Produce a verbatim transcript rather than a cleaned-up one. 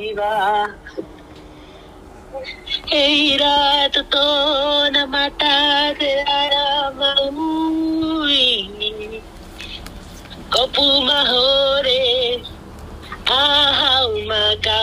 iba. Eira to na mata de aramui. Kopu mahore, ahau maka.